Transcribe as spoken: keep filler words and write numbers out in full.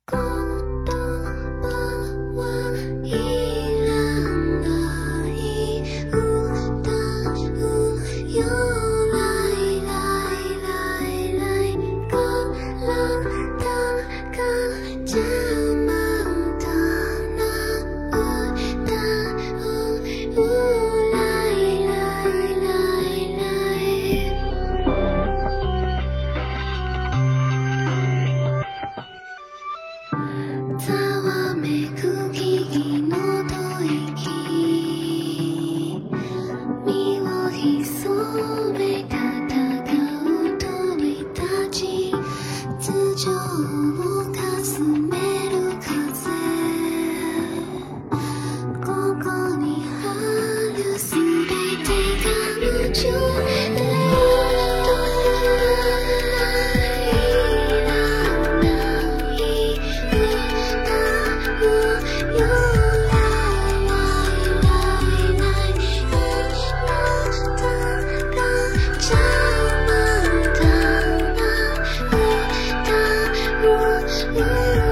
言葉はいらない歌うよライライライライ体が邪魔だな歌うライライライライざわめく木々の吐息身を潜め戦う鳥たち頭上をかすめる風ここにあるすべてが夢中でyou